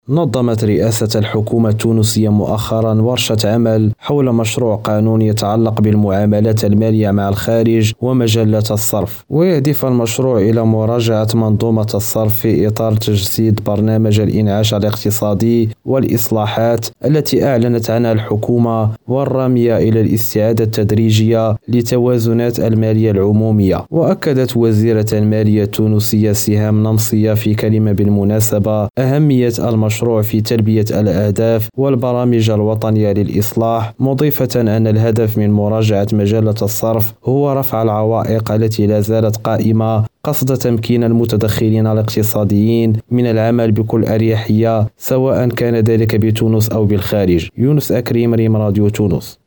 نظمت رئاسة الحكومة التونسية مؤخرا ورشة عمل حول مشروع قانون يتعلق بالمعاملات المالية مع الخارج ومجلة الصرف، ويهدف المشروع إلى مراجعة منظومة الصرف في إطار تجسيد برنامج الإنعاش الاقتصادي والإصلاحات التي أعلنت عنها الحكومة، والرامية إلى الاستعادة التدريجية لتوازنات المالية العمومية. وأكدت وزيرة المالية التونسية سهام نمصية في كلمة بالمناسبة أهمية المشروع في تلبية الأهداف والبرامج الوطنية للإصلاح، مضيفة أن الهدف من مراجعة مجلة الصرف هو رفع العوائق التي لا زالت قائمة قصد تمكين المتدخلين الاقتصاديين من العمل بكل أريحية، سواء كان ذلك بتونس أو بالخارج. يونس أكريم، ريم راديو تونس.